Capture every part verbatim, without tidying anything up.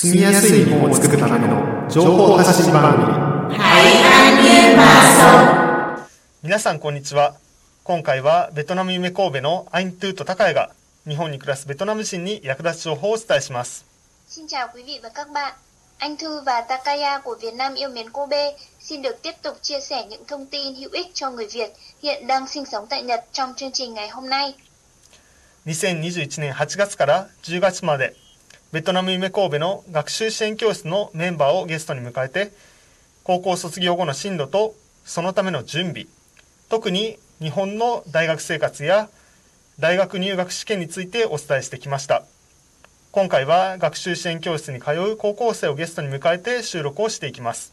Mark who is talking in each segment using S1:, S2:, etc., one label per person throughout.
S1: 住みやすい日本を作るための情報発信番組。
S2: 皆さんこんにちは。今回はベトナム夢神戸のアイントゥーと高谷が日本に暮らすベトナム人に役立つ情報をお伝えします。
S3: Xin chào quý vị và các bạn. Anh Thư và Takaya của Việt Nam yêu mến Kobe xin được tiếp tục chia sẻ những thông tin hữu ích cho người Việt hiện đang sinh sống tại Nhật trong chương trình ngày hôm nay.
S2: にせんにじゅういちねんはちがつからじゅうがつまでベトナム夢神戸の学習支援教室のメンバーをゲストに迎えて、高校卒業後の進路とそのための準備、特に日本の大学生活や大学入学試験についてお伝えしてきました。今回は学習支援教室に通う高校生をゲストに迎えて収録をしていきます。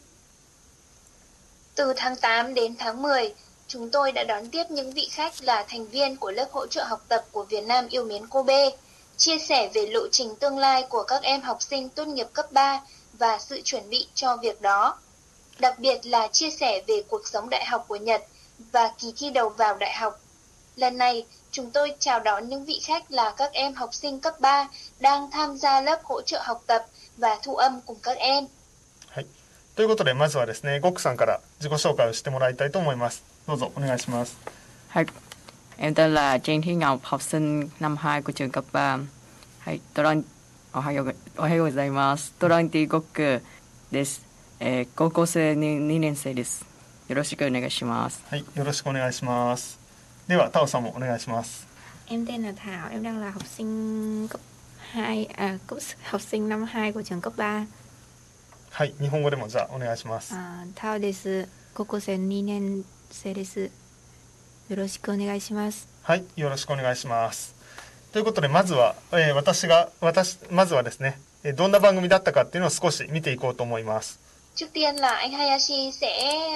S3: Từ tháng tám đến tháng mười, chúng tôi đã đón tiếp những vị khách là thành viên của lớp hỗ trợ học tập của Việt Nam yêu mến Kobe, chia sẻ về lộ trình tương lai của các em học sinh tốt nghiệp cấp ba và sự chuẩn bị cho việc đó. Đặc biệt là chia sẻ về cuộc sống đại học của Nhật và kỳ thi đầu vào đại học. Lần này, chúng tôi chào đón những vị khách là các em học sinh cấp ba đang tham gia lớp hỗ trợ học tập và thu âm cùng các em.
S2: はい。ということで、まずはですね、ゴックさんから自己紹介をしてもらいたいと思います。どうぞお願いします。
S4: はい。Em tên là Trang Thúy Ngọc, học sinh năm hai của trường cấp ba. はい。トラン、おはよう、おはようございます。トランティゴックです。えー、高校生ににねん生です。よろしくお願いします。
S2: はい。よろしくお願いします。では、タオさんもお願いします。
S5: Em tên là Thảo, em đang là học sinh cấp hai, à, cấp, học sinh năm hai của trường cấp ba.
S2: はい。日本語でもじゃあお願いします。
S5: あ、タオです。高校生にねん生です。よろしくお願いします。
S2: はい。よろしくお願いします。ということで、まずは、えー、私が、私、まずはですね、どんな番組だったかっていうのを少し見ていこうと思います。
S3: Trước tiên là anh Hayashi sẽ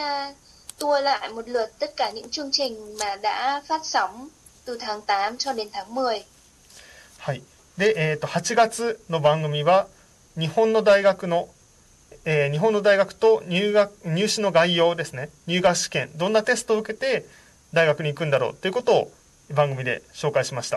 S3: tua lại một lượt tất cả những chương trình mà đã phát sóng từ tháng tám cho đến tháng mười.
S2: はい。で、えっと、はちがつの番組は、日本の大学の、えー、日本の大学と入学、入試の概要ですね。入学試験、どんなテストを受けて大学に行くんだろうということを番組で紹介しました。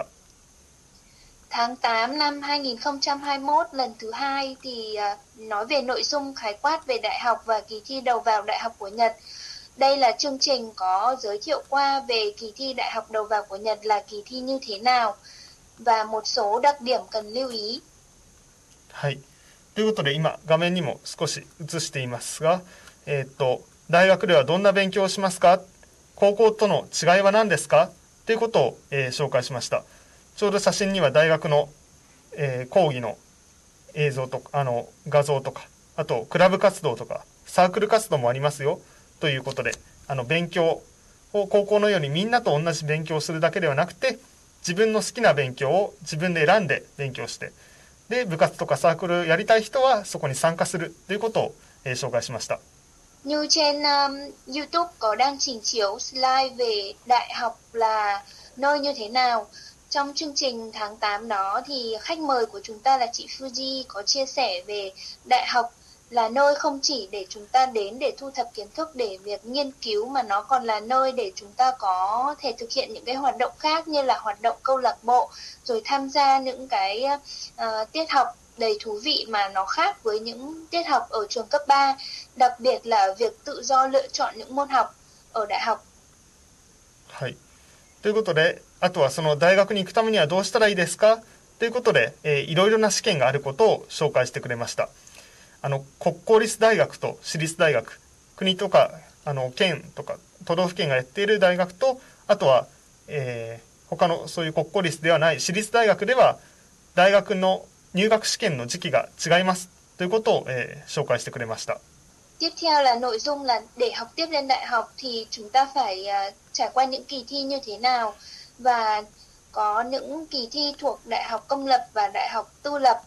S3: Tháng tám năm hai nghìn không trăm hai mươi mốt lần thứ hai thì nói về nội dung khái quát về đại học và kỳ thi đầu vào đại học của Nhật. Đây là chương trình có giới thiệu qua về kỳ thi đại học đầu vào của Nhật là kỳ thi như thế nào và một số đặc điểm cần lưu ý.
S2: はい。ということで今画面にも少し映していますが、えっと大学ではどんな勉強をしますか？高校との違いは何ですか？ということを、えー、紹介しました。ちょうど写真には大学の、えー、講義の映像とかあの画像とか、あとクラブ活動とかサークル活動もありますよということで、あの勉強を高校のようにみんなと同じ勉強をするだけではなくて、自分の好きな勉強を自分で選んで勉強して、で部活とかサークルやりたい人はそこに参加するということを、えー、紹介しました。
S3: Như trên um, YouTube có đang trình chiếu slide về đại học là nơi như thế nào. Trong chương trình tháng tám đó thì khách mời của chúng ta là chị Fuji có chia sẻ về đại học là nơi không chỉ để chúng ta đến để thu thập kiến thức để việc nghiên cứu mà nó còn là nơi để chúng ta có thể thực hiện những cái hoạt động khác như là hoạt động câu lạc bộ, rồi tham gia những cái uh, tiết học đầy thú vị mà nó khác với những tiết học ở trường cấp ba, đặc biệt là việc tự do lựa chọn những môn học ở đại học.
S2: はい。ということで、あとはその大学に行くためにはどうしたらいいですかということで、えー、いろいろな試験があることを紹介してくれました。あの国公立大学と私立大学、国とかあの県とか都道府県がやっている大学と、あとは、えー、他のそういう国公立ではない私立大学では大学の入学試験の時期が違いますということを、えー、紹介してくれました。
S3: Tiếp theo là nội dung là để học tiếp lên đại học thì chúng ta phải uh, trải qua những kỳ thi như thế nào, và có những kỳ thi thuộc đại học công lập và đại học tư lập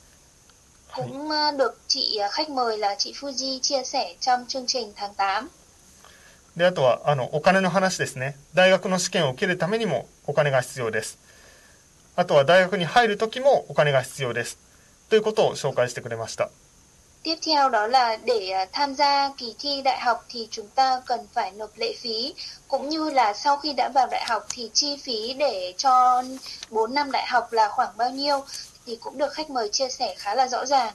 S3: cũng uh, được chị uh, khách mời là chị Fuji chia sẻ trong chương trình tháng tám.
S2: で、あとはあのお金の話ですね。大学の試験を受けるためにもお金が必要です。あとは大学に入るときもお金が必要ですということを紹介してくれました。
S3: Tiếp theo đó là để tham gia kỳ thi đại học thì chúng ta cần phải nộp lệ phí, cũng như là sau khi đã vào đại học thì chi phí để cho bốn năm đại học là khoảng bao nhiêu thì cũng được khách mời chia sẻ khá là rõ ràng.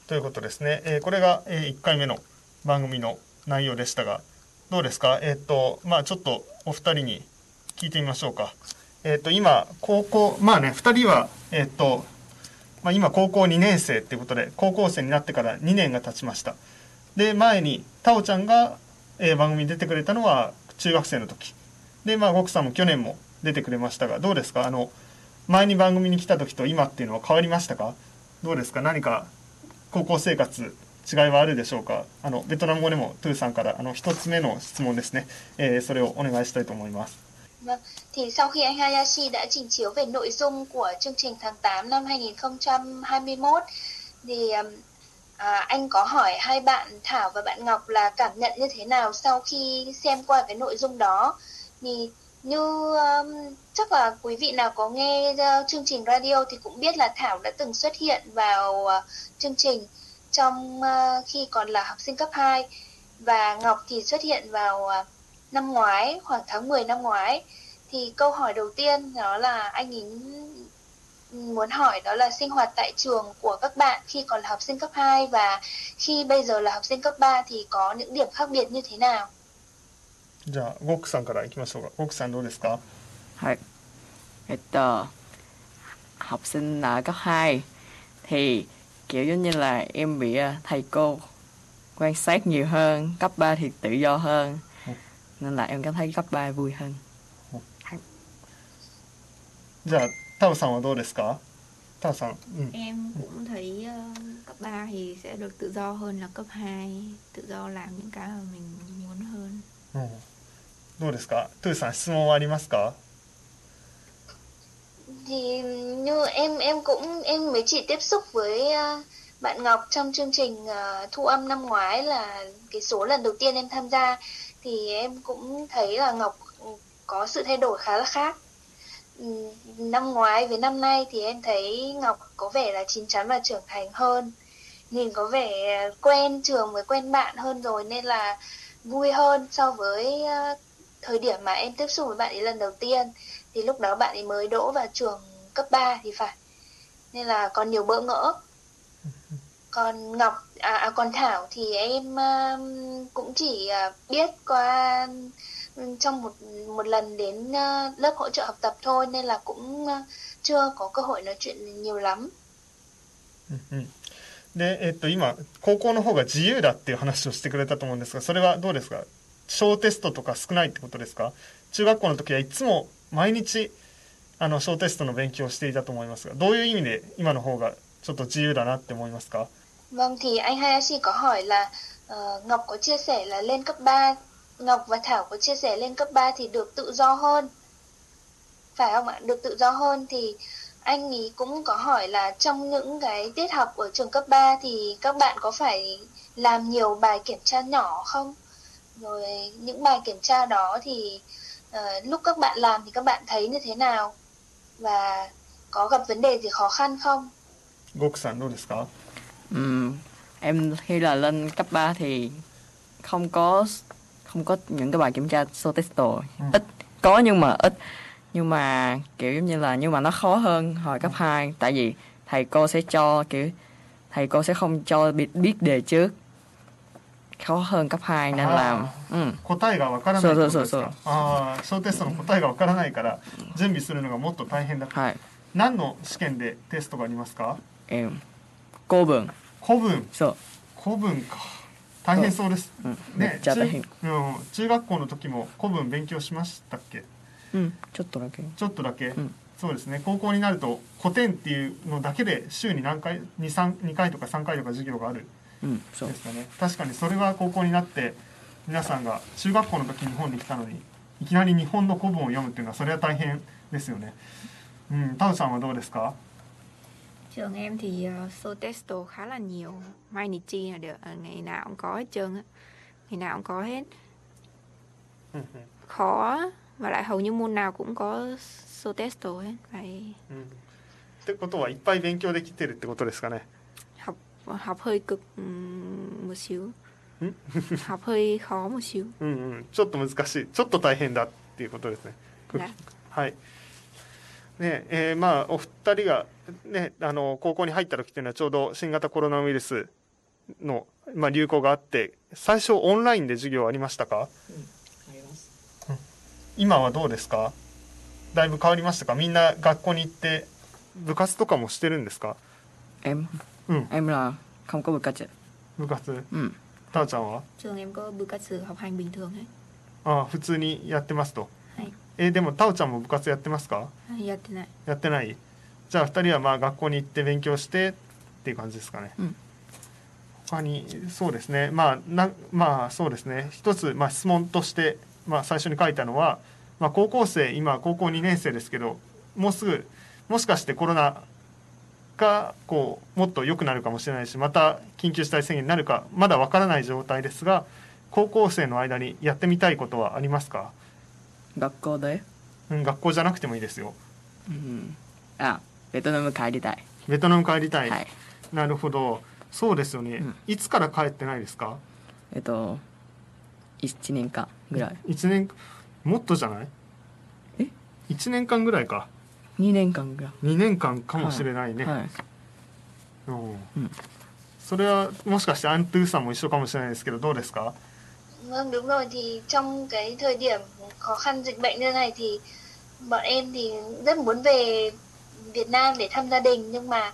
S2: ということですね。えーこれが、えーいっかいめの番組の内容でしたが、どうですか？えっとまあちょっとお二人に聞いてみましょうか。えっと今高校まあねふたりはえっとまあ今高校にねん生っていうことで高校生になってからにねんが経ちました。で前にタオちゃんが、えー番組に出てくれたのは中学生の時で、まあゴクさんも去年も出てくれましたが、どうですか？あの前に番組に来た時と今っていうのは変わりましたか？どうですか？何か高校生活違いはあるでしょうか？あのベトナム語でもトゥーさんからあの一つ目の質問ですね、えーそれをお願いしたいと思います。
S3: Vâng, thì sau khi anh Hayashi đã trình chiếu về nội dung của chương trình tháng tám năm hai nghìn không trăm hai mươi mốt thì um, à, anh có hỏi hai bạn Thảo và bạn Ngọc là cảm nhận như thế nào sau khi xem qua cái nội dung đó. Thì như um, chắc là quý vị nào có nghe uh, chương trình radio thì cũng biết là Thảo đã từng xuất hiện vào uh, chương trình trong uh, khi còn là học sinh cấp hai và Ngọc thì xuất hiện vào uh, năm ngoái, khoảng tháng mười năm ngoái. Thì câu hỏi đầu tiên đó là anh ấy muốn hỏi đó là sinh hoạt tại trường của các bạn khi còn là học sinh cấp hai và khi bây giờ là học sinh cấp ba thì có những điểm khác biệt như thế nào?
S2: じゃあゴクさんからいきましょうか。ゴクさんどうですか？
S4: Thôi, et tờ, học sinh ở cấp hai thì kiểu giống như là em bị ờ, thầy cô quan sát nhiều hơn, cấp ba thì tự do hơn, nên là em cảm thấy cấp ba vui hơn.
S2: じゃあタオさんはどうですか？タオさん、うん、
S5: Em cũng thấy ờ, cấp ba thì sẽ được tự do hơn là cấp hai, tự do làm những cái mà mình muốn hơn.
S2: うん、どうですか？トゥーさん質問はありますか？
S3: Thì như em em cũng em mới chỉ tiếp xúc với uh, bạn Ngọc trong chương trình uh, thu âm năm ngoái là cái số lần đầu tiên em tham gia thì em cũng thấy là Ngọc có sự thay đổi khá là khác. Ừm, Năm ngoái với năm nay thì em thấy Ngọc có vẻ là chín chắn và trưởng thành hơn, nhìn có vẻ quen trường với quen bạn hơn rồi nên là vui hơn so với uh, thời điểm mà em tiếp xúc với bạn ấy lần đầu tiên. Thì lúc đó bạn ấy mới đỗ vào trường cấp ba thì phải, nên là còn nhiều bỡ ngỡ. Còn Ngọc à, à còn Thảo thì em uh, cũng chỉ uh, biết qua um, trong một một lần đến uh, lớp hỗ trợ học tập thôi nên là cũng uh, chưa có cơ hội nói chuyện nhiều lắm.
S2: うんうん、で、えっと、今高校の方が自由だっていう話をしてくれたと思うんですが、それはどうですか？小テストとか少ないってことですか？中学校の時はいつも毎日あの小テストの勉強をしていたと思いますが、どういう意味で今の方がちょっと自由だなって思いますか？
S3: Vâng, thì anh Hayashi có hỏi là uh, Ngọc có chia sẻ là lên cấp ba, Ngọc và Thảo có chia sẻ lên cấp ba thì được tự do hơn, phải không ạ? Được tự do hơn thì anh ấy cũng có hỏi là trong những cái tiết học ở trường cấp ba thì các bạn có phải làm nhiều bài kiểm tra nhỏ không? Rồi những bài kiểm tra đó thì uh, lúc các bạn làm thì các bạn thấy như thế nào? Và có gặp vấn đề gì khó khăn không?
S2: ゴクさんどうですか？
S4: Ừm, em khi là lên cấp ba thì không có không có những cái bài kiểm tra sô test
S2: Ừ.
S4: ít, có nhưng mà ít, nhưng mà kiểu giống như là nhưng mà nó khó hơn hồi cấp hai, tại vì thầy cô sẽ cho kiểu thầy cô sẽ không cho biết, biết đề trước, khó hơn cấp hai nên là ừ.
S2: 答えがわからないってことですか？
S4: そうそうそうそう。
S2: ああ、小テストの答えがわからないから準備するのがもっと大変だ。
S4: はい。
S2: 何の試験でテストがありますか？
S4: Em cô vườn
S2: 古文。
S4: そう
S2: 古文か。大変そうです。
S4: うんめっちゃ大変。
S2: 中、うん、中学校の時も古文勉強しましたっけ？
S4: うんちょっとだけ
S2: ちょっとだけ。
S4: ん
S2: そうですね。高校になると古典っていうのだけで週に何回、に、さん、にかいとかさんかいとか授業がある。
S4: うんそう
S2: ですかね。確かにそれは高校になって皆さんが中学校の時日本に来たのにいきなり日本の古文を読むっていうのはそれは大変ですよね。うん、タウさんはどうですか？
S5: Trường em thì uh, show test khá là nhiều, mai nị chi là được, uh, ngày nào cũng có hết trơn á, ngày nào cũng có hết. Khó và lại hầu như môn nào cũng có show test hết, phải
S2: ってことはいっぱい勉強できてるってことですかね。
S5: học học hơi cực um, một xíu, học hơi khó một xíu.
S2: うんうん、ちょっと難しい、ちょっと大変だっていうことですね。
S5: ね
S2: はい。ねえー、まあお二人がね、あの高校に入った時っていうのはちょうど新型コロナウイルスの、まあ、流行があって最初オンラインで授業ありましたか？
S4: うん、あります。
S2: うん、今はどうですか？だいぶ変わりましたか？みんな学校に行って部活とかもしてるんですか？
S4: Em
S2: うん
S4: em là không có bucat.
S2: 部活、
S4: うん。
S2: たーちゃんは？
S5: Trường em có bữa cắt sự học hành bình thường ấy.
S2: ああ普通にやってますと。
S5: はい。
S2: えーでもたおちゃんも部活やってますか？
S5: やってない。
S2: やってない。じゃあふたりはまあ学校に行って勉強してっていう感じですかね。
S4: うん。
S2: 他にそうですね、まあなまあそうですね、一つ、まあ、質問として、まあ、最初に書いたのは、まあ、高校生今高校にねん生ですけどもうすぐもしかしてコロナがこうもっと良くなるかもしれないしまた緊急事態宣言になるかまだわからない状態ですが高校生の間にやってみたいことはありますか？
S4: 学校で、
S2: うん、学校じゃなくてもいいですよ。
S4: うん、あ、ベトナム帰りたい。
S2: ベトナム帰りたい、
S4: はい。
S2: なるほど。そうですよね、
S4: うん、
S2: いつから帰ってないですか？
S4: えっといちねんかんぐらい。
S2: いちねんもっとじゃない？
S4: え
S2: いちねんかんぐらいか。
S4: にねんかんぐらい。
S2: にねんかんかもしれないね、
S4: はいはい、
S2: うん
S4: うん、
S2: それはもしかしてアントゥーさんも一緒かもしれないですけどどうですか？
S3: Vâng đúng rồi, thì trong cái thời điểm khó khăn dịch bệnh như này thì bọn em thì rất muốn về Việt Nam để thăm gia đình nhưng mà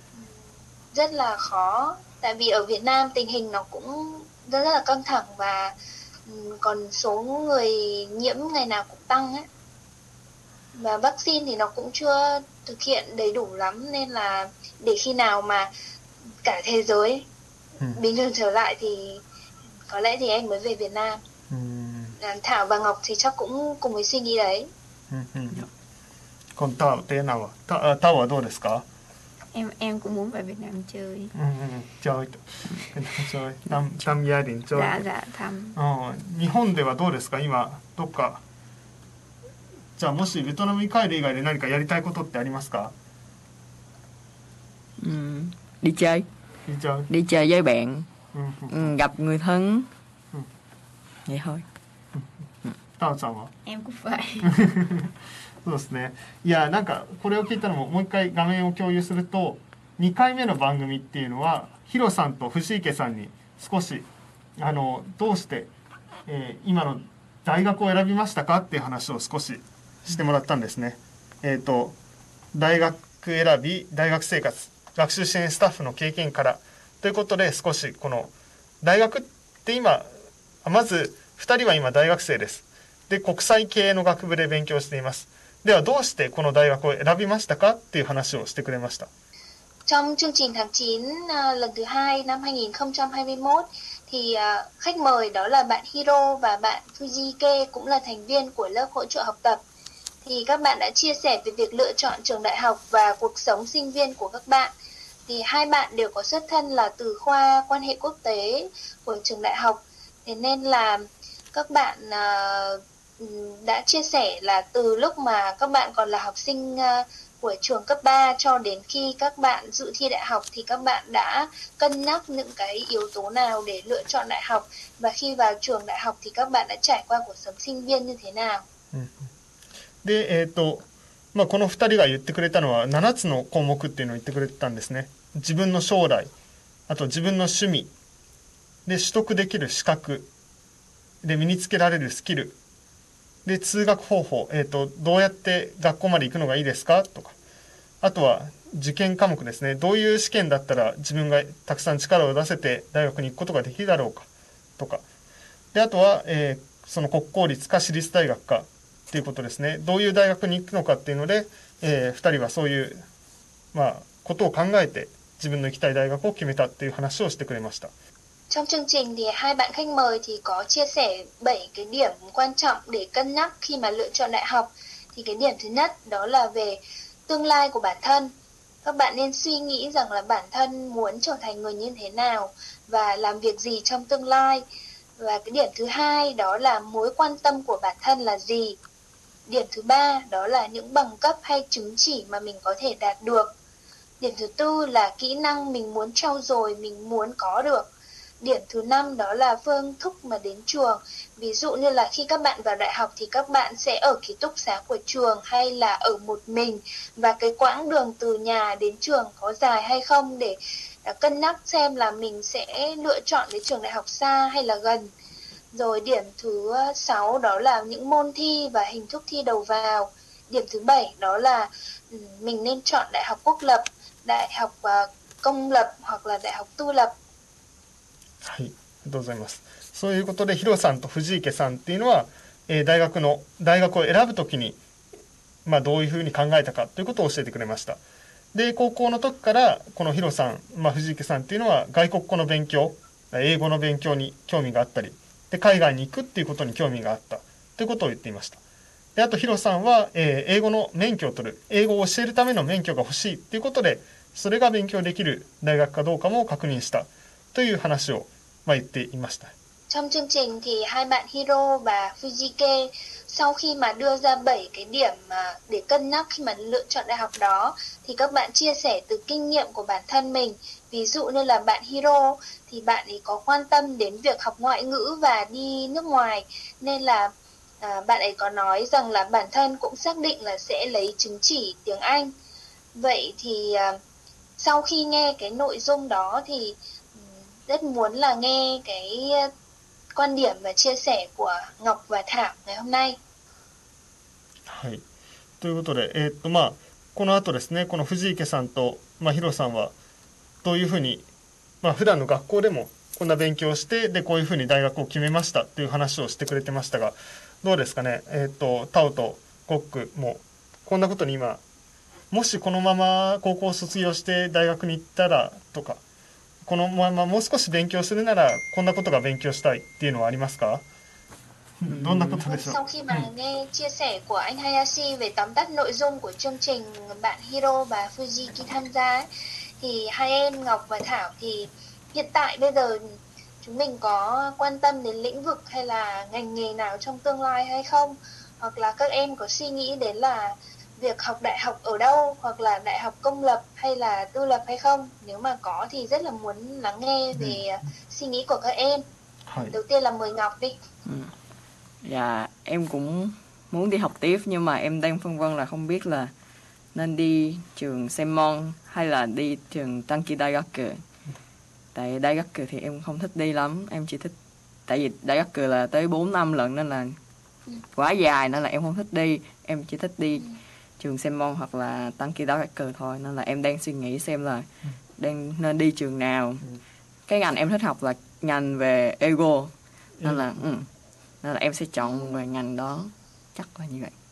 S3: rất là khó tại vì ở Việt Nam tình hình nó cũng rất, rất là căng thẳng và còn số người nhiễm ngày nào cũng tăng ấy. Và vaccine thì nó cũng chưa thực hiện đầy đủ lắm nên là để khi nào mà cả thế giới ừ. bình thường trở lại thì có lẽ thì em mới về Việt Nam. Ừ. Thảo và Ngọc thì chắc cũng cùng với suy nghĩ đấy.
S2: Ừ. Ừ. Còn Thảo thế nào ạ? Thảo, Thảo là đâuですか?
S5: Em em cũng muốn về Việt Nam chơi.
S2: Ừ, chơi. chơi. thăm thăm gia đình chơi.
S5: Dạ dạ thăm.
S2: 日本ではどうですか今どっかじゃあもしベトナムに帰る以外で何かやりたいことってありますか？
S4: ừ, đi chơi.
S2: Đi chơi.
S4: Đi chơi với bạn.
S2: Ừ.
S4: Ừ, gặp người thân.
S2: Ừ.
S4: Vậy thôi.
S2: タオちゃんは？
S5: Em cũng vậy.
S2: そうですね。いやなんかこれを聞いたのももう一回画面を共有するとにかいめの番組っていうのはヒロさんと藤池さんに少しあのどうして、えー、今の大学を選びましたかっていう話を少ししてもらったんですね。えっと大学選び、大学生活、学習支援スタッフの経験からということで少しこの大学って今まずふたりは今大学生です。で国際経営の学部で勉強しています。ではどうしてこの大学を選びましたかっていう話をしてくれました。
S3: Trong chương trình tháng chín uh, lần thứ hai năm hai nghìn không trăm hai mươi mốt thì uh, khách mời đó là bạn Hiro và bạn Fujike cũng là thành viên của lớp hỗ trợ học tập. Thì các bạn đã chia sẻ về việc lựa chọn trường đại học và cuộc sống sinh viên của các bạn. Thì hai bạn đều có xuất thân là từ khoa quan hệ quốc tế của trường đại học. Thế nên là các bạn uh, đã chia sẻ là từ lúc mà các bạn còn là học sinh uh, của trường cấp ba cho đến khi các bạn dự thi đại học thì các bạn đã cân nhắc những cái yếu tố nào để lựa chọn đại học và khi vào trường đại học thì các bạn đã trải qua cuộc sống sinh viên như thế nào.
S2: で、えーとまあ、このふたりが言ってくれたのはななつの項目っていうのを言ってくれてたんですね。自分の将来、あと自分の趣味で取得できる資格で身につけられるスキルで通学方法、えーと、どうやって学校まで行くのがいいですかとか、あとは受験科目ですね。どういう試験だったら自分がたくさん力を出せて大学に行くことができるだろうかとか、であとは、えー、その国公立か私立大学かっていうことですね。どういう大学に行くのかっていうので、えー、ふたりはそういう、まあ、ことを考えて自分の行きたい大学を決めたっていう話をしてくれました。
S3: Trong chương trình thì hai bạn khách mời thì có chia sẻ bảy cái điểm quan trọng để cân nhắc khi mà lựa chọn đại học. Thì cái điểm thứ nhất đó là về tương lai của bản thân. Các bạn nên suy nghĩ rằng là bản thân muốn trở thành người như thế nào và làm việc gì trong tương lai. Và cái điểm thứ hai đó là mối quan tâm của bản thân là gì. Điểm thứ ba đó là những bằng cấp hay chứng chỉ mà mình có thể đạt được. Điểm thứ tư là kỹ năng mình muốn trau dồi, mình muốn có được. điểm thứ năm đó là phương thức mà đến trường. Ví dụ như là khi các bạn vào đại học thì các bạn sẽ ở ký túc xá của trường hay là ở một mình, và cái quãng đường từ nhà đến trường có dài hay không để cân nhắc xem là mình sẽ lựa chọn cái trường đại học xa hay là gần. Rồi điểm thứ sáu đó là những môn thi và hình thức thi đầu vào. Điểm thứ bảy đó là mình nên chọn đại học quốc lập, đại học công lập hoặc là đại học tư lập.
S2: はい、ありがとうございます。そういうことでヒロさんと藤池さんっていうのは、えー、大学の大学を選ぶときに、まあ、どういうふうに考えたかということを教えてくれました。で高校の時からこのヒロさん、まあ、藤池さんっていうのは外国語の勉強、英語の勉強に興味があったりで海外に行くっていうことに興味があったということを言っていました。であとヒロさんは、えー、英語の免許を取る、英語を教えるための免許が欲しいということで、それが勉強できる大学かどうかも確認したという話を、まあ、言っていました。
S3: Trong chương trình thì hai bạn Hiro và Fujike sau khi mà đưa ra bảy cái điểm mà để cân nhắc khi mà lựa chọn đại học đó thì các bạn chia sẻ từ kinh nghiệm của bản thân mình. Ví dụ như là bạn Hiro thì bạn ấy có quan tâm đến việc học ngoại ngữ và đi nước ngoài, nên là à, bạn ấy có nói rằng là bản thân cũng xác định là sẽ lấy chứng chỉ tiếng Anh. Vậy thì à, sau khi nghe cái nội dung đó thì rất muốn là nghe cái quan điểm và chia sẻ của Ngọc và Thảo ngày hôm nay.
S2: はい、ということで、えーっとまあ、この後ですね、この藤池さんと、まあ、ヒロさんはどういうふうに、まあ普段の学校でもこんな勉強をしてでこういうふうに大学を決めましたっていう話をしてくれてましたが、どうですかね、えーっとタオとコックもこんなことに今もしこのまま高校を卒業して大学に行ったらとか、このままもう少し勉強するならこんなことが勉強したいっていうのはありますか？どんなことでしょう？
S3: Sau khi mà nghe chia sẻ của anh Hayashi về tóm tắt nội dung của chương trình bạn Hiro và Fujiki tham gia ấy, thì hai em Ngọc và Thảo thì hiện tại bây giờ chúng mình có quan tâm đến lĩnh vực hay là ngành nghề nào trong tương lai hay không? Hoặc là các em có suy nghĩ đến là việc học đại học ở đâu, hoặc là đại học công lập hay là tư lập hay không? Nếu mà có thì rất là muốn lắng nghe về ừ. suy nghĩ của các em. Đầu tiên là mời Ngọc đi.
S4: Ừ. Dạ, em cũng muốn đi học tiếp nhưng mà em đang phân vân là không biết là nên đi trường Senmon hay là đi trường Tanki Daigaku. Tại Daigaku thì em không thích đi lắm, em chỉ thích, tại vì Daigaku là tới bốn năm lận nên là quá dài nên là em không thích đi, em chỉ thích đi trường Senmon hoặc là Tanki Daigaku thôi, nên là em đang suy nghĩ xem là đang nên đi trường nào. Cái ngành em thích học là ngành về ego nên là ừ, nên là em sẽ chọn về ngành đó, chắc là như vậy.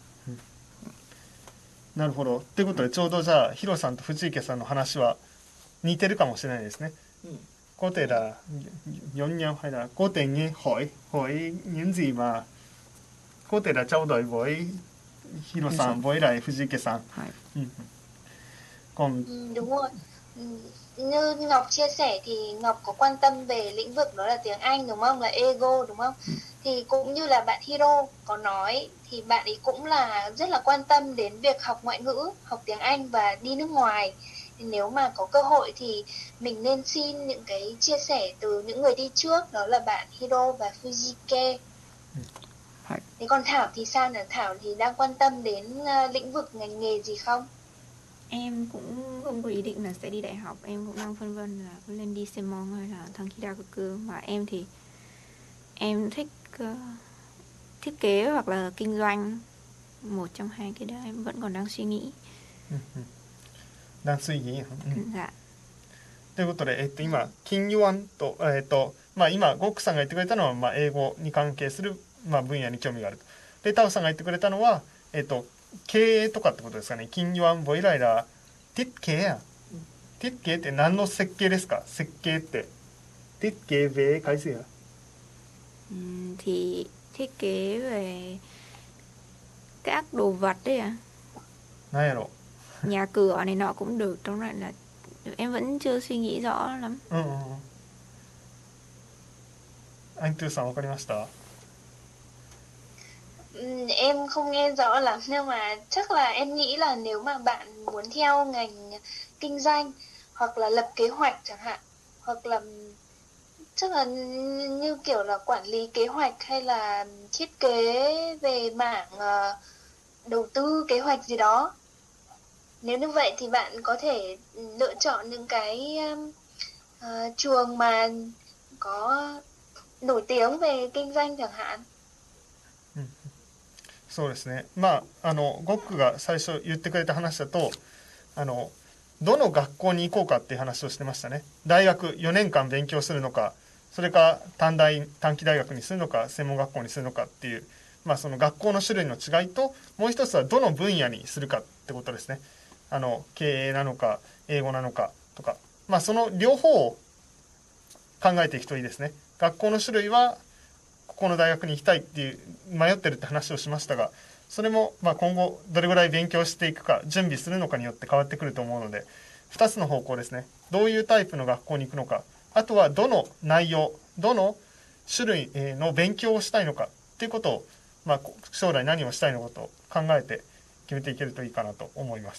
S2: なるほど。ということでちょうどじゃあヒロさんと藤池さんの話は似てるかもしれないですね。Có thể là giống nhau hay là cố tình nghe hỏi hỏi những gì mà có thể là trao đổi với Hiro-san với lại Fujike-san. Ừ. Còn
S3: ừ, đúng rồi. Như Ngọc chia sẻ thì Ngọc có quan tâm về lĩnh vực đó là tiếng Anh đúng không, là ego đúng không? Ừ. Thì cũng như là bạn Hiro có nói thì bạn ấy cũng là rất là quan tâm đến việc học ngoại ngữ, học tiếng Anh và đi nước ngoài. Nếu mà có cơ hội thì mình nên xin những cái chia sẻ từ những người đi trước, đó là bạn Hiro và Fujike. Thế còn Thảo thì sao nhỉ? Thảo thì đang quan tâm đến uh, lĩnh vực ngành nghề gì không?
S5: Em cũng không có ý định là sẽ đi đại học, em cũng đang phân vân là có lên đi Senmon hay là Tanki Daigaku. Mà em thì em thích uh, thiết kế hoặc là kinh doanh, một trong hai cái đó em vẫn còn đang suy nghĩ.
S2: đang suy nghĩ.
S5: はい。
S2: ということで、えっと、今金融案と、えっとまあ、今ゴックさんが言ってくれたのは、まあ、英語に関係する、まあ、分野に興味があると。でタオさんが言ってくれたのは、えっと、経営とかってことですかね。金融案ボイライラーティッケやティッケって何の設計ですか？設計ってティッケvề cái gì ạ?
S5: Um, thì thiết kế về các đồ vật đấy à?
S2: 何やろ?
S5: Nhà cửa này nọ cũng được, trong lại là em vẫn chưa suy nghĩ rõ lắm.
S2: Ừ, ừ. Anh Tư Sang わかりました?
S3: Em không nghe rõ lắm nhưng mà chắc là em nghĩ là nếu mà bạn muốn theo ngành kinh doanh hoặc là lập kế hoạch chẳng hạn, hoặc là chắc là như kiểu là quản lý kế hoạch hay là thiết kế về mảng ờ, đầu tư kế hoạch gì đó. Nếu như vậy thì bạn có thể lựa chọn những cái um, ờ, trường mà có nổi tiếng về kinh doanh chẳng hạn.
S2: そうですね。まああのゴックが最初言ってくれた話だと、あのどの学校に行こうかっていう話をしてましたね。大学よねんかん勉強するのか、それか短大短期大学にするのか、専門学校にするのかっていう、まあその学校の種類の違いと、もう一つはどの分野にするかってことですね。あの経営なのか英語なのかとか、まあその両方を考えていくといいですね。学校の種類はここの大学に行きたいっていう迷ってるって話をしましたが、それもまあ今後どれぐらい勉強していくか準備するのかによって変わってくると思うので、ふたつの方向ですね。どういうタイプの学校に行くのか、あとはどの内容、どの種類の勉強をしたいのかっていうことを、まあ、将来何をしたいのかと考えて決めていけるといいかなと思います。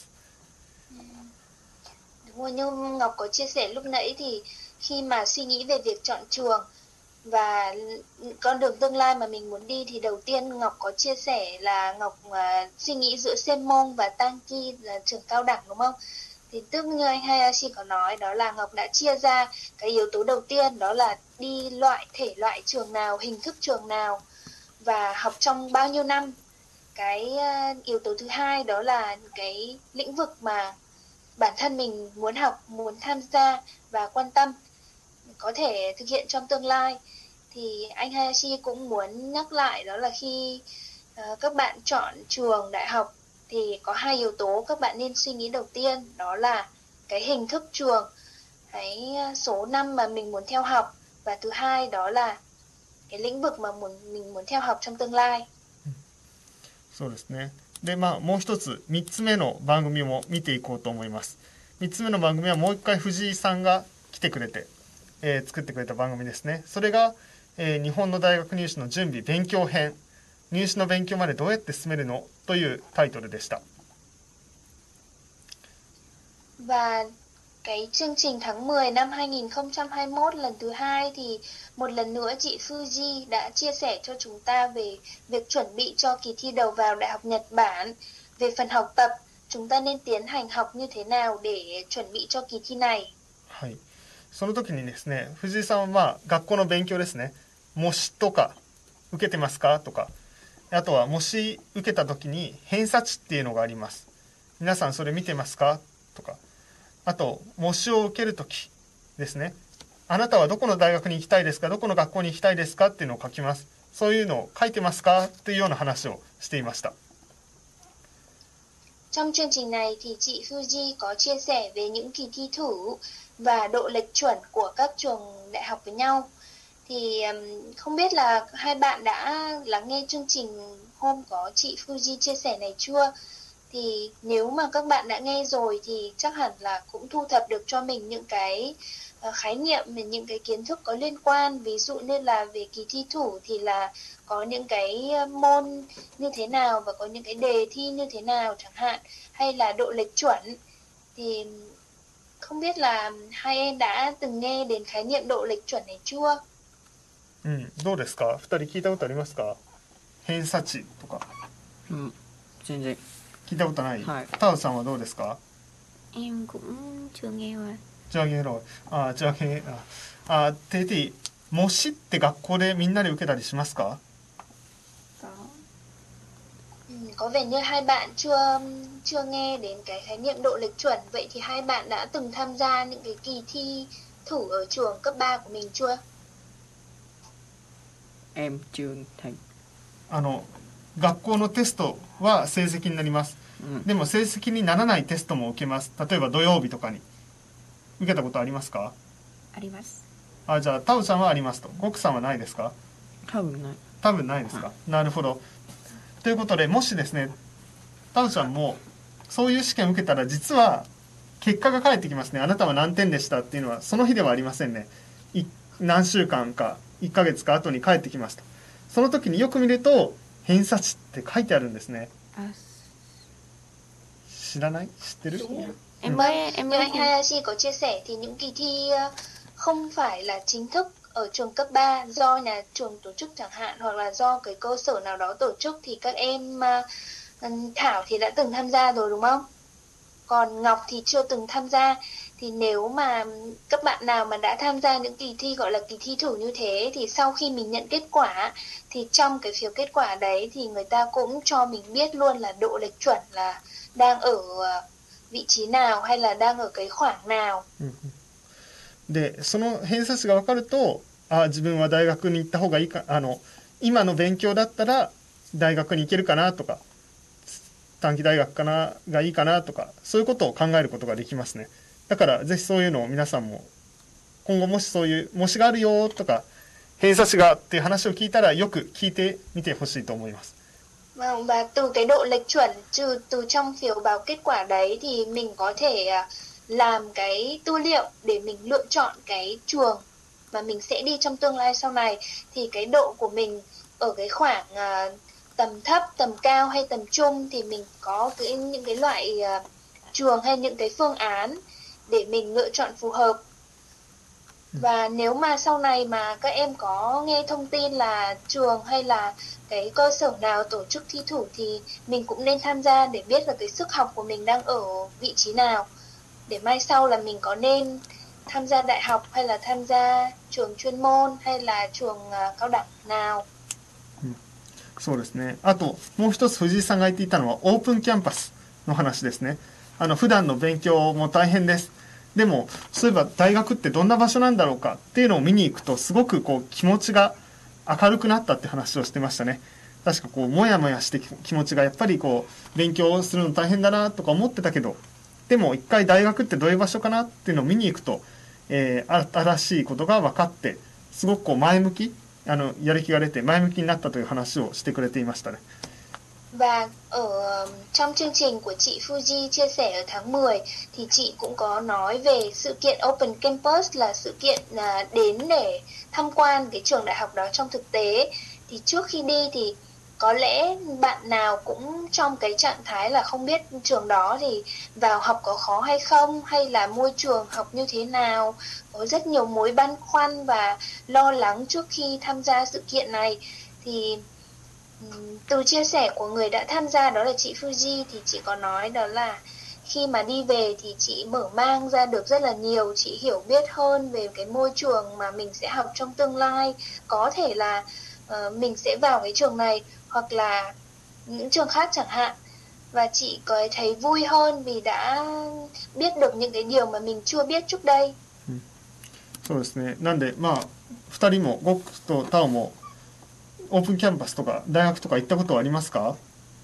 S3: Đúng rồi, như Ngọc có chia sẻ lúc nãy thì khi mà suy nghĩ về việc chọn trường và con đường tương lai mà mình muốn đi thì đầu tiên Ngọc có chia sẻ là Ngọc uh, suy nghĩ giữa Senmong và Tanki là trường cao đẳng đúng không? Thì tức như anh Hayashi có nói đó là Ngọc đã chia ra cái yếu tố đầu tiên đó là đi loại thể loại trường nào, hình thức trường nào và học trong bao nhiêu năm. Cái uh, yếu tố thứ hai đó là cái lĩnh vực mà bản thân mình muốn học, muốn tham gia và quan tâm có thể thực hiện trong tương lai. Thì anh Hayashi cũng muốn nhắc lại đó là khi uh, các bạn chọn trường đại học thì có hai yếu tố các bạn nên suy nghĩ đầu tiên, đó là cái hình thức trường, cái số năm mà mình muốn theo học, và thứ hai đó là cái lĩnh vực mà muốn, mình muốn theo học trong tương lai.
S2: そうですね。で、まあもう一つみっつめの番組も見ていこうと思います。みっつめの番組はもう一回藤井さんが来てくれて、えー、作ってくれた番組ですね。それが、えー、日本の大学入試の準備勉強編、入試の勉強までどうやって進めるのというタイトルでした。
S3: Và cái chương trình tháng mười năm hai nghìn không trăm hai mươi mốt lần thứ hai thì một lần nữa chị Fuji đã chia sẻ cho chúng ta về việc chuẩn bị cho kỳ thi đầu vào Đại học Nhật Bản. Về phần học tập, chúng ta nên tiến hành học như thế nào để chuẩn bị cho kỳ thi này.
S2: はい。その時にですね、藤井さんはまあ学校の勉強ですね。模試とか受けてますかとか、あとは模試受けた時に偏差値っていうのがあります。皆さんそれ見てますかとか、あと模試を受ける時ですね。あなたはどこの大学に行きたいですか、どこの学校に行きたいですかっていうのを書きます。そういうのを書いてますかというような話をしていました。
S3: Trong chương trình này thì chị Fuji có chia sẻ về những kỳ thi thử và độ lệch chuẩn của các trường đại học với nhau. Thì không biết là hai bạn đã lắng nghe chương trình hôm có chị Fuji chia sẻ này chưa? Thì nếu mà các bạn đã nghe rồi thì chắc hẳn là cũng thu thập được cho mình những cái khái niệm, những cái kiến thức có liên quan. Ví dụ như là về kỳ thi thử thì là có những cái môn như thế nào và có những cái đề thi như thế nào chẳng hạn, hay là độ lệch chuẩn. Thì không biết là hai em đã từng nghe đến khái niệm độ lệch chuẩn này chưa?
S2: うん、どうですか？ふたり聞いたことありますか？偏差値とか。
S4: うん、全然。
S2: 聞いたことない。
S4: はい。
S2: タオさんはどうですか？
S5: Em cũng chưa nghe rồi.
S2: chưa nghe rồi. À, chưa nghe. À, thế thì模試って学校でみんなで受けたりしますか？
S5: Có.
S3: Ừ, có vẻ như hai bạn chưa chưa nghe đến cái khái niệm độ lệch chuẩn. Vậy thì hai bạn đã từng tham gia những cái kỳ thi thử ở trường cấp ba của mình chưa?
S4: Em chưa thành.
S2: あの学校のテストは成績になります、うん、でも成績にならないテストも受けます。例えば土曜日とかに受けたことありますか？
S5: あります。
S2: あ、じゃあタウちゃんはありますと。ゴクさんはないですか？
S4: 多分ない。
S2: 多分ないですか、はい、なるほど。ということでもしですね、タウちゃんもそういう試験を受けたら実は結果が返ってきますね。あなたは何点でしたっていうのはその日ではありませんね。い何週間かいっかげつか後に返ってきました。その時によく見ると偏差値って書いてあるんですね。知らない？知ってる？
S3: Em mới em mới anh Hayashi có chia sẻ thì những kỳ thi không phải là chính thức ở trường cấp ba do nhà trường tổ chức chẳng hạn, hoặc là do cái cơ sở nào đó tổ chức, thì các em uh, Thảo thì đã từng tham gia rồi đúng không? Còn Ngọc thì chưa từng tham gia. Thì nếu mà các bạn nào mà đã tham gia những kỳ thi gọi là kỳ thi thử như thế, thì sau khi mình nhận kết quả thì trong cái phiếu kết quả đấy thì người ta cũng cho mình biết luôn là độ lệch chuẩn là đang ở vị trí nào hay là đang ở cái khoảng nào.
S2: でその偏差値が分かると、あ自分は大学に行った方がいいか、あの今の勉強だったら大学に行けるかなとか、短期大学かながいいかなとか、そういうことを考えることができますね。だからぜひそういうのを皆さんも今後もしそういう模試があるよとか偏差値がっていう話を聞いたらよく聞いてみてほしいと思います。
S3: Vâng, và từ cái độ lệch chuẩn trừ từ trong phiếu báo kết quả đấy thì mình có thể làm cái tư liệu để mình lựa chọn cái trường mà mình sẽ đi trong tương lai sau này. Thì cái độ của mình ở cái khoảng uh, tầm thấp, tầm cao hay tầm trung thì mình có cái, những cái loại uh, trường hay những cái phương án để mình lựa chọn phù hợp. Và nếu mà sau này mà các em có nghe thông tin là trường hay là cái cơ sở nào tổ chức thi thử thì mình cũng nên tham gia để biết là cái sức học của mình đang ở vị trí nào, để mai sau là mình có nên tham gia đại học hay là tham gia trường chuyên môn hay là trường uh, cao đẳng nào.
S2: そうですね。あともう一つ藤井さんが言っていたのはオープンキャンパスの話ですね。あの普段の勉強も大変です。でもそういえば大学ってどんな場所なんだろうかっていうのを見に行くとすごくこう気持ちが明るくなったって話をしてましたね。確かこうモヤモヤして気持ちがやっぱりこう勉強するの大変だなとか思ってたけど、でも一回大学ってどういう場所かなっていうのを見に行くと、えー、新しいことが分かってすごくこう前向き、あのやる気が出て前向きになったという話をしてくれていましたね。
S3: Và ở trong chương trình của chị Fuji chia sẻ ở tháng mười thì chị cũng có nói về sự kiện Open Campus, là sự kiện đến để tham quan cái trường đại học đó trong thực tế. Thì trước khi đi thì có lẽ bạn nào cũng trong cái trạng thái là không biết trường đó thì vào học có khó hay không, hay là môi trường học như thế nào, có rất nhiều mối băn khoăn và lo lắng trước khi tham gia sự kiện này. Thì từ chia sẻ của người đã tham gia đó là chị Fuji thì chị có nói đó là khi mà đi về thì chị mở mang ra được rất là nhiều, chị hiểu biết hơn về cái môi trường mà mình sẽ học trong tương lai. Có thể là uh, mình sẽ vào cái trường này hoặc là những trường khác chẳng hạn. Và chị có thấy vui hơn vì đã biết được những cái điều mà mình chưa biết trước đây.
S2: そうですね。なんでまあふたりもゴックとタオもオープンキャンパスとか大学とか行ったことはありますか？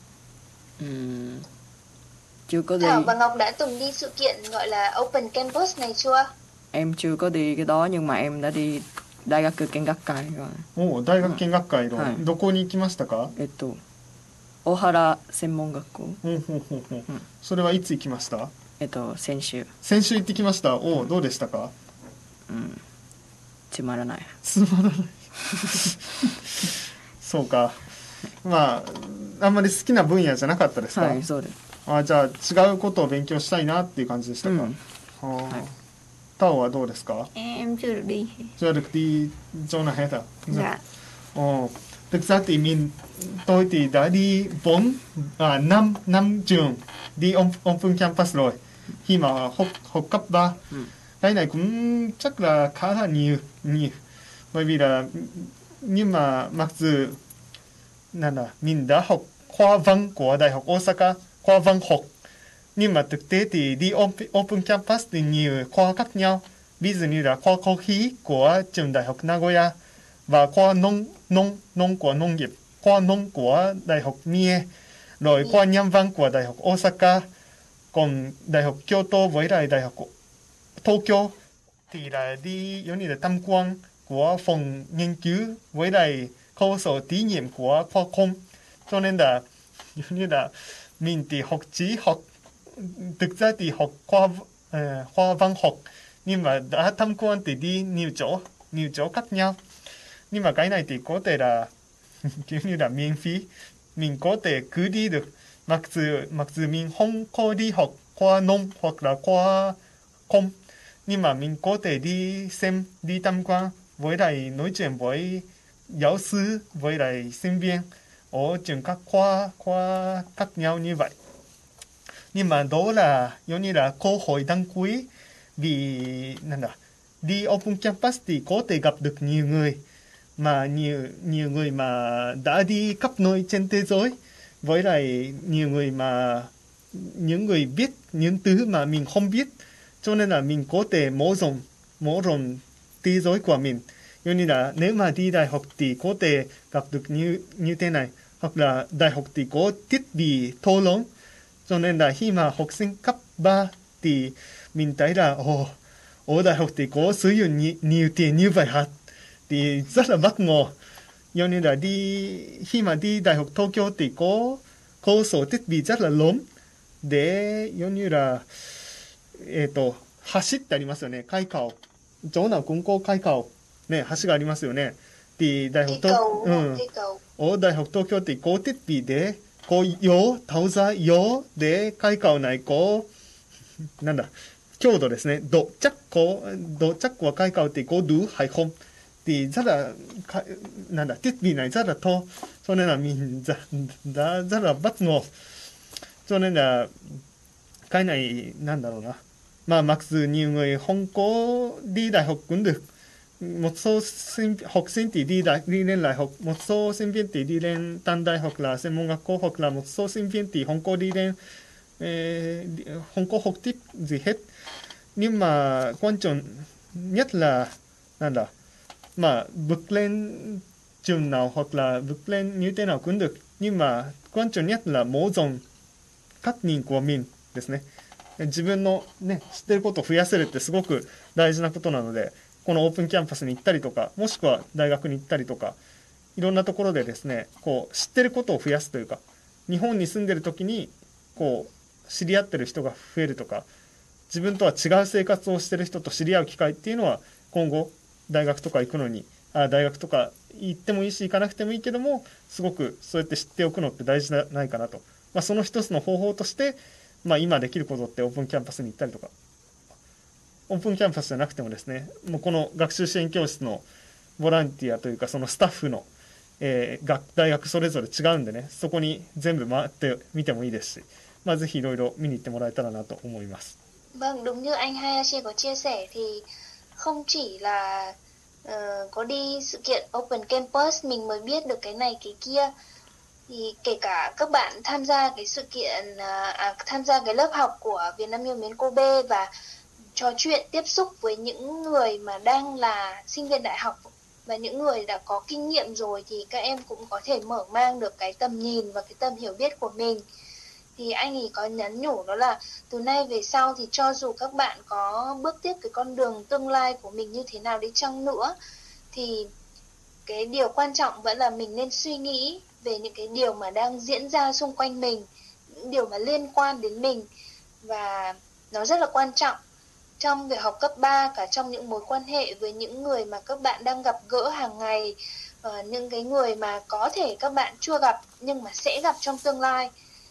S4: Ừm, chưa có đi.
S3: Thảo và Ngọc đã từng đi sự kiện gọi là Open Campus này chưa?
S4: Em chưa có đi cái đó nhưng mà em đã đi đại学見学会rồi.
S2: おお、大学見学会の、
S4: はい
S2: どこに行きましたか？
S4: えっと大原専門学校。
S2: ほうほうほうほう、うん、それはいつ行きました？
S4: えっと先週。
S2: 先週行ってきました。おお、どうでしたか？
S4: うん、つまらない。
S2: つまらないそうか。まああんまり好きな分野じゃなかったですか？
S4: はい、そうです。
S2: あ、じゃあ違うことを勉強したいなっていう感じでしたか？うん、はあ、はい。タオはどうですか？
S5: Em chưa được đi.
S2: Chưa được đi chỗ nào hết à?
S5: Dạ.
S2: Ồ, thực ra thì mình tôi thì đã đi bốn à, năm năm trường đi Open Campus rồi khi mà học học cấp ba. Ừ. Cái này cũng chắc là khá là nhiều nhiều bởi vì là nhưng mà mặc dù là, là mình đã học khoa văn của Đại học Osaka, khoa văn học, nhưng mà thực tế thì đi Open Campus thì nhiều khoa khác nhau, ví dụ như là khoa cơ khí của trường Đại học Nagoya và khoa nông nông nông của nông nghiệp, khoa nông của Đại học Mie, rồi khoa nhân văn của Đại học Osaka, còn Đại học Kyoto với lại Đại học Tokyo thì là đi giống như là tham quan của phòng nghiên cứu với lại cơ sở thí nghiệm của khoa công, cho nên là giống như là mình thì học chỉ học thực ra thì học khoa uh, khoa văn học nhưng mà đã tham quan thì đi nhiều chỗ nhiều chỗ khác nhau, nhưng mà cái này thì có thể là kiểu như là miễn phí, mình có thể cứ đi được, mặc dù mặc dù mình không có đi học khoa nông hoặc là khoa công nhưng mà mình có thể đi xem đi tham quan với lại nói chuyện với giáo sư, với lại sinh viên ở trường các khoa khoa khác nhau như vậy. Nhưng mà đó là giống như là cơ hội đăng ký, vì đi Open Campus thì có thể gặp được nhiều người, mà nhiều nhiều người mà đã đi khắp nơi trên thế giới, với lại nhiều người mà những người biết những thứ mà mình không biết, cho nên là mình có thể mở rộng mở rộng thế giới của mình. Giống như là nếu mà đi đại học thì có thể gặp được như như thế này, hoặc là đại học thì có thiết bị to lớn, cho nên là khi mà học sinh cấp ba thì mình thấy là ồ, ở đại học thì có sử dụng nhiều, nhiều tiền như vậy hả, thì rất là bất ngờ. Giống như là đi khi mà đi đại học Tokyo thì có cơ sở thiết bị rất là lớn để giống như là えっと橋ってありますよね、開花をchỗ nào cũng có開花をね、橋がありますよね。thì đại học to, ừ, ở đại học Tokyo thì có thiết bị để có gió tạo ra gió để khai khảo này có なんだ強度ですね、độ chắc có độ chắc của khai khảo thì có đủ hay không, thì rất là なんだ thiết bị này rất là to, cho nên là mình đã rất là bất ngờ. Cho nên là cái này なんだろうな、まあmặc dù nhiều người không có đi đại học cũng được, một số sinh, học sinh thì đi đại đi lên đại học, một số sinh viên thì đi lên tăng đại học là専門学校, hoặc là một số sinh viên thì không có đi lên eh, không có học tiếp gì hết. Nhưng mà quan trọng nhất là là là mà vượt lên trường nào hoặc là vượt lên như thế nào cũng được, nhưng mà quan trọng nhất là mở rộng cách nhìn của mình ですね。自分のね、知ってることを増やせるってすごく大事なことなので、このオープンキャンパスに行ったりとか、もしくは大学に行ったりとか、いろんなところでですね、こう知ってることを増やすというか、日本に住んでる時にこう知り合ってる人が増えるとか、自分とは違う生活をしてる人と知り合う機会っていうのは、今後大学とか行くのに、あ大学とか行ってもいいし行かなくてもいいけども、すごくそうやって知っておくのって大事じゃないかなと。まあ、その一つの方法として、まあ、今できることってオープンキャンパスに行ったりとか、オープンキャンパスじゃなくてもですね、もうこの学習支援教室のボランティアというか、そのスタッフの、えー、学大学それぞれ違うんでね、そこに全部回ってみてもいいですし、まあ、ぜひいろいろ見に行ってもらえたらなと思います。
S3: Vâng, đúng như anh Hayashi có chia sẻ thì không chỉ là uh, có đi sự kiện Open Campus mình mới biết được cái này cái kia, thì kể cả các bạn tham gia cái sự kiện à, tham gia cái lớp học của Việt Nam yêu mến Kobe và trò chuyện tiếp xúc với những người mà đang là sinh viên đại học và những người đã có kinh nghiệm rồi, thì các em cũng có thể mở mang được cái tầm nhìn và cái tầm hiểu biết của mình. Thì anh ấy có nhắn nhủ đó là từ nay về sau thì cho dù các bạn có bước tiếp cái con đường tương lai của mình như thế nào đi chăng nữa, thì cái điều quan trọng vẫn là mình nên suy nghĩ về những cái điều mà đang diễn ra xung quanh mình, những điều mà liên quan đến mình, và nó rất là quan trọng trong việc học cấp ba, cả trong những mối quan hệ với những người mà các bạn đang gặp gỡ hàng ngày, uh, những cái người mà có thể các bạn chưa gặp nhưng mà sẽ gặp trong tương lai.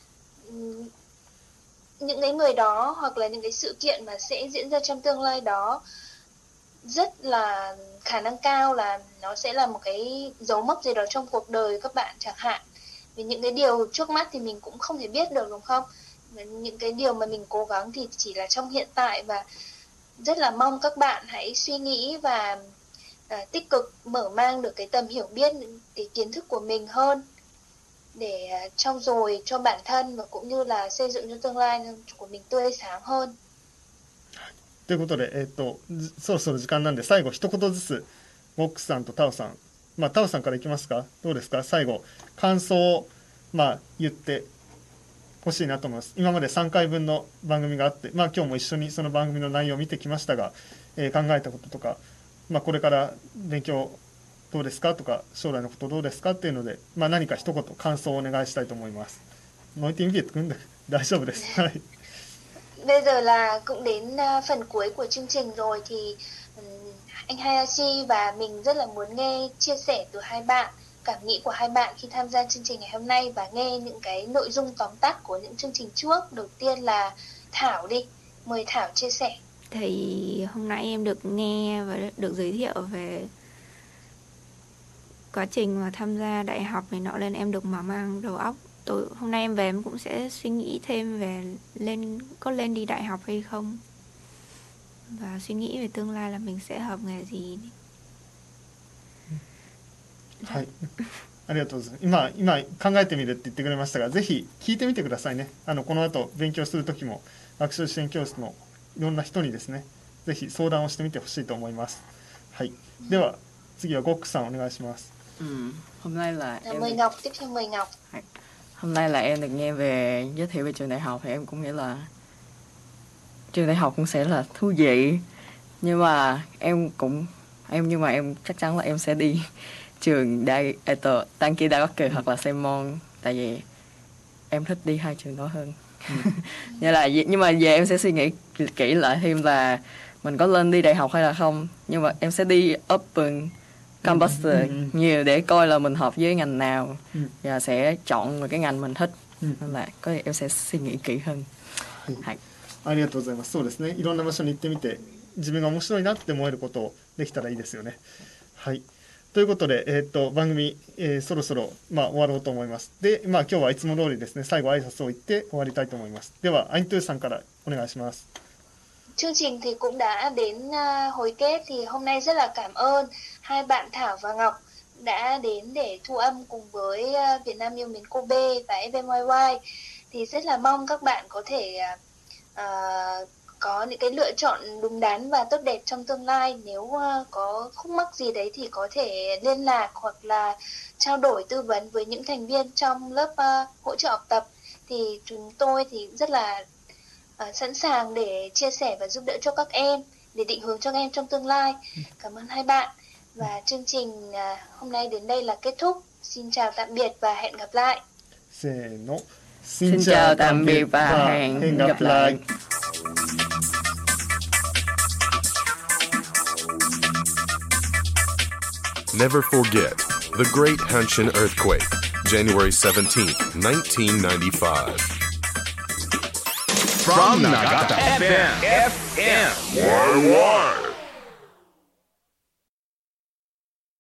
S3: Um, những cái người đó hoặc là những cái sự kiện mà sẽ diễn ra trong tương lai đó rất là khả năng cao là nó sẽ là một cái dấu mốc gì đó trong cuộc đời các bạn chẳng hạn. Vì những cái điều trước mắt thì mình cũng không thể biết được, đúng không? Những cái điều mà mình cố gắng thì chỉ là trong hiện tại, và rất là mong các bạn hãy suy nghĩ và à, tích cực mở mang được cái tầm hiểu biết, cái kiến thức của mình hơn để à, trau dồi cho bản thân và cũng như là xây dựng cho tương lai của mình tươi sáng hơn.
S2: ということで、えー、とそろそろ時間なんで最後一言ずつボックスさんとタオさん、まあ、タオさんからいきますか。どうですか、最後感想を、まあ、言ってほしいなと思います。今までさんかいぶんの番組があって、まあ、今日も一緒にその番組の内容を見てきましたが、えー、考えたこととか、まあ、これから勉強どうですかとか将来のことどうですかっていうので、まあ、何か一言感想をお願いしたいと思います。nói tiếng Việt cũng được, 大丈夫です。はい。
S3: Bây giờ là cũng đến phần cuối của chương trình rồi, thì anh Hayashi và mình rất là muốn nghe chia sẻ từ hai bạn, cảm nghĩ của hai bạn khi tham gia chương trình ngày hôm nay và nghe những cái nội dung tóm tắt của những chương trình trước. Đầu tiên là Thảo đi, mời Thảo chia sẻ.
S5: Thì hôm nay em được nghe và được giới thiệu về quá trình mà tham gia đại học này nọ lên em được mở mang đầu óc. Tối hôm nay em về em cũng sẽ suy nghĩ thêm về lên có lên đi đại học hay không, và suy nghĩ về tương lai là mình sẽ học nghề gì.
S2: はい、ありがとうございます。今、今考えてみるって言ってくれましたが、ぜひ聞いてみてくださいね。あのこの後勉強する時も学習支援教室のいろんな人にですね、ぜひ相談をしてみてほしいと思います。はい、では次はゴックさんお願いします。
S4: Ừ, hôm nay là em
S3: Mời Ngọc, tiếp theo mời Ngọc.
S4: Hôm nay là em được nghe về giới thiệu về trường đại học thì em cũng nghĩ là trường đại học cũng sẽ là thú vị, nhưng mà em cũng em nhưng mà em chắc chắn là em sẽ đi trường đại eto Tanki Dagoku hoặc là Seimon, tại vì em thích đi hai trường đó hơn. Như là nhưng mà về em sẽ suy nghĩ kỹ lại thêm là mình có lên đi đại học hay là không, nhưng mà em sẽ đi open campus nhiều để coi là mình hợp với ngành nào và sẽ chọn một cái ngành mình thích, nên là có em sẽ suy nghĩ kỹ hơn. はい。
S2: ありがとうございます。そうですね。いろんな場所に行ってみて自分が面白いなって思えることをできたらいいですよね。はい。ということで、えー、っと番組、えー、そろそろ、まあ、終わろうと思います。で、まあ、今日はいつも通りですね、最後挨拶を言って終わりたいと思います。では、アイントゥーさんからお願いします。
S3: Chương trình thì cũng đã đến uh, hồi kết, thì hôm nay rất là cảm ơn hai bạn Thảo và Ngọc đã đến để thu âm cùng với uh, Việt Nam yêu mến Kobe và ép em i i. Thì rất là mong các bạn có thể uh, uh, có những cái lựa chọn đúng đắn và tốt đẹp trong tương lai. Nếu uh, có khúc mắc gì đấy thì có thể liên lạc hoặc là trao đổi tư vấn với những thành viên trong lớp uh, hỗ trợ học tập. Thì chúng tôi thì rất là uh, sẵn sàng để chia sẻ và giúp đỡ cho các em, để định hướng cho các em trong tương lai. Cảm ơn hai bạn. Và chương trình uh, hôm nay đến đây là kết thúc. Xin chào tạm biệt và hẹn gặp lại.
S2: Xin,
S4: Xin chào tạm biệt và hẹn gặp lại.
S6: Never forget the Great Hanshin Earthquake, January seventeenth, nineteen ninety-five.
S7: From Nagata F M, F M.
S6: Why, why?